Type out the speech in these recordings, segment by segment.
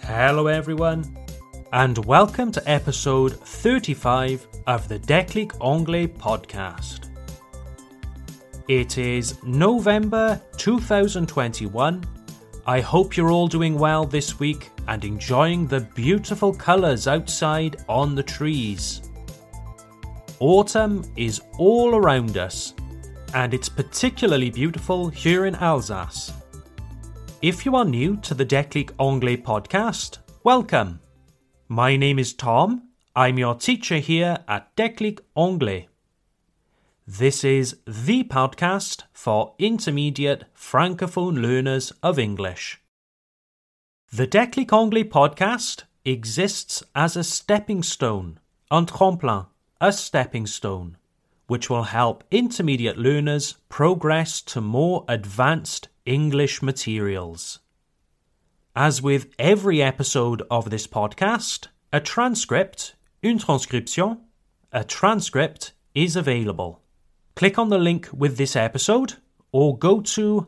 Hello everyone, and welcome to episode 35 of the Déclic Anglais podcast. It is November 2021. I hope you're all doing well this week and enjoying the beautiful colours outside on the trees. Autumn is all around us, and it's particularly beautiful here in Alsace. If you are new to the Déclic Anglais podcast, welcome. My name is Tom. I'm your teacher here at Déclic Anglais. This is the podcast for intermediate francophone learners of English. The Déclic Anglais podcast exists as a stepping stone, un tremplin, a stepping stone, which will help intermediate learners progress to more advanced English materials. As with every episode of this podcast, a transcript, une transcription, a transcript is available. Click on the link with this episode or go to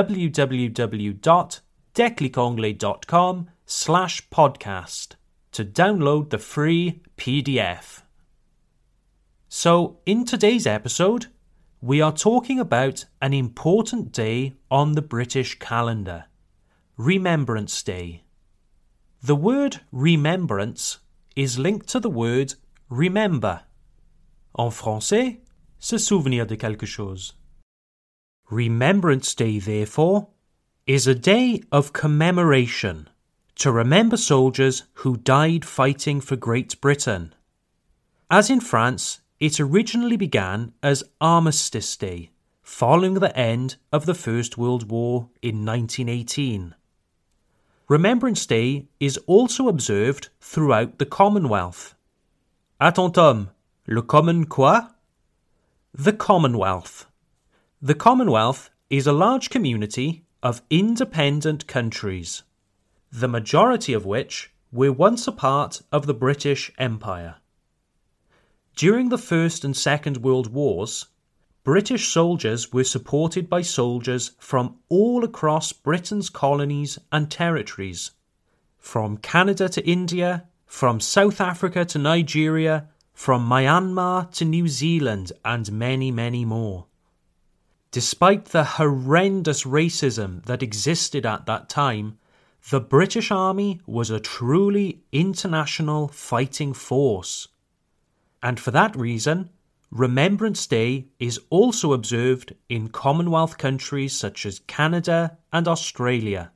www.declicanglais.com/podcast to download the free PDF. So, in today's episode, we are talking about an important day on the British calendar, Remembrance Day. The word remembrance is linked to the word remember. En français, se souvenir de quelque chose. Remembrance Day, therefore, is a day of commemoration to remember soldiers who died fighting for Great Britain. As in France, it originally began as Armistice Day, following the end of the First World War in 1918. Remembrance Day is also observed throughout the Commonwealth. Attends Tom, le Common quoi? The Commonwealth. The Commonwealth is a large community of independent countries, the majority of which were once a part of the British Empire. During the First and Second World Wars, British soldiers were supported by soldiers from all across Britain's colonies and territories, from Canada to India, from South Africa to Nigeria, from Myanmar to New Zealand, and many, many more. Despite the horrendous racism that existed at that time, the British Army was a truly international fighting force. And for that reason, Remembrance Day is also observed in Commonwealth countries such as Canada and Australia.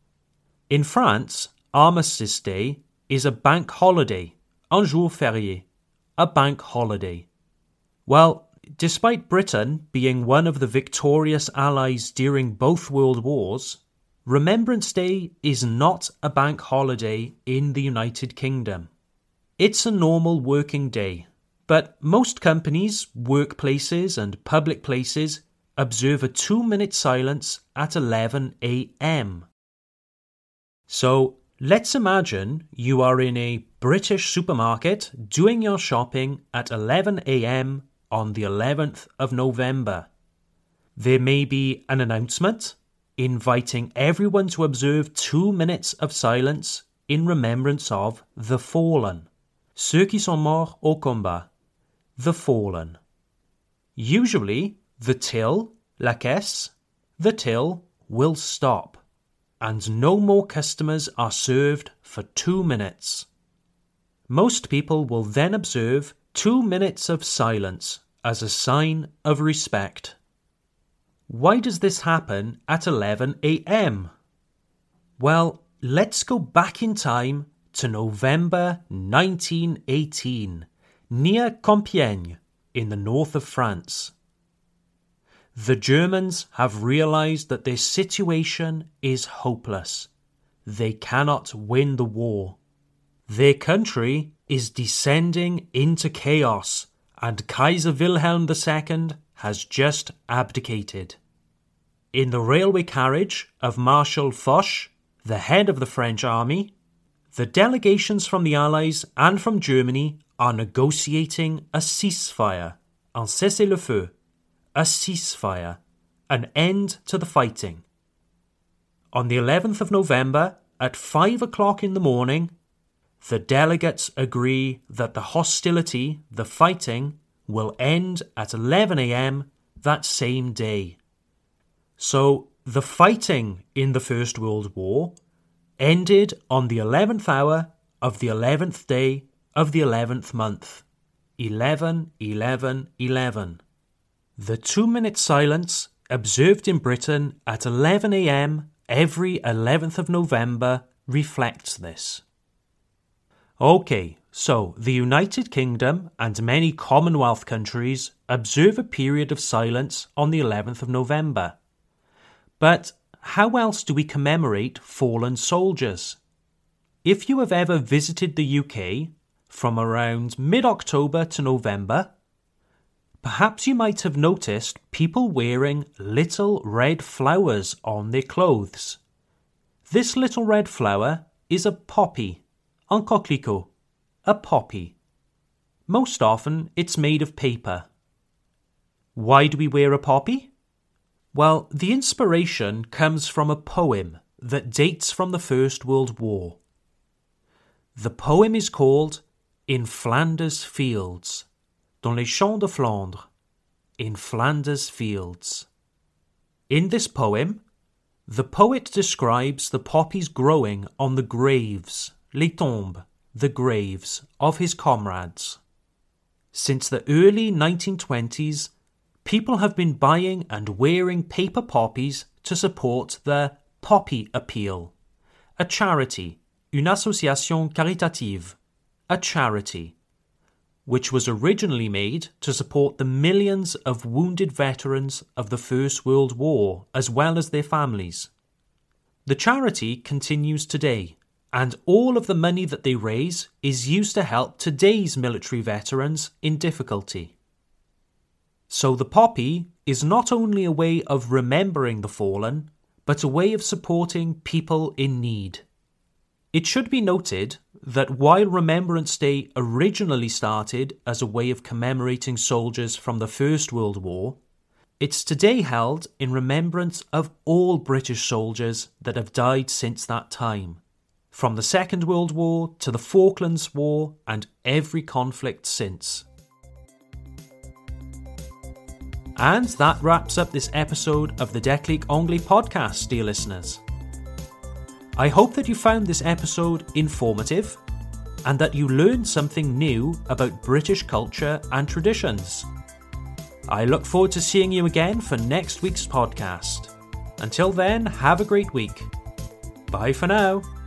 In France, Armistice Day is a bank holiday, un jour férié, a bank holiday. Well, despite Britain being one of the victorious allies during both world wars, Remembrance Day is not a bank holiday in the United Kingdom. It's a normal working day, but most companies, workplaces and public places observe a 2-minute silence at 11 a.m. So let's imagine you are in a British supermarket doing your shopping at 11 a.m. on the 11th of November. There may be an announcement inviting everyone to observe 2 minutes of silence in remembrance of the fallen. Ceux qui sont morts au combat, the fallen. Usually, the till, la caisse, the till will stop, and no more customers are served for 2 minutes. Most people will then observe 2 minutes of silence as a sign of respect. Why does this happen at 11 a.m.? Well, let's go back in time to November 1918, near Compiègne, in the north of France. The Germans have realised that their situation is hopeless. They cannot win the war. Their country is descending into chaos, and Kaiser Wilhelm II has just abdicated. In the railway carriage of Marshal Foch, the head of the French army, the delegations from the Allies and from Germany are negotiating a ceasefire, un cessez-le-feu, a ceasefire, an end to the fighting. On the 11th of November, at 5 o'clock in the morning, the delegates agree that the hostility, the fighting, will end at 11 a.m. that same day. So the fighting in the First World War ended on the 11th hour of the 11th day of the 11th month. 11-11-11. The 2-minute silence observed in Britain at 11 a.m. every 11th of November reflects this. Okay, so the United Kingdom and many Commonwealth countries observe a period of silence on the 11th of November. But how else do we commemorate fallen soldiers? If you have ever visited the UK from around mid-October to November, perhaps you might have noticed people wearing little red flowers on their clothes. This little red flower is a poppy, un coquelicot, a poppy. Most often it's made of paper. Why do we wear a poppy? Well, the inspiration comes from a poem that dates from the First World War. The poem is called In Flanders Fields, dans les champs de Flandre, in Flanders Fields. In this poem, the poet describes the poppies growing on the graves, les tombes, the graves of his comrades. Since the early 1920s, people have been buying and wearing paper poppies to support the Poppy Appeal, a charity, une association caritative, a charity, which was originally made to support the millions of wounded veterans of the First World War as well as their families. The charity continues today, and all of the money that they raise is used to help today's military veterans in difficulty. So the poppy is not only a way of remembering the fallen, but a way of supporting people in need. It should be noted that while Remembrance Day originally started as a way of commemorating soldiers from the First World War, it's today held in remembrance of all British soldiers that have died since that time, from the Second World War to the Falklands War and every conflict since. And that wraps up this episode of the Déclic Anglais podcast, dear listeners. I hope that you found this episode informative and that you learned something new about British culture and traditions. I look forward to seeing you again for next week's podcast. Until then, have a great week. Bye for now.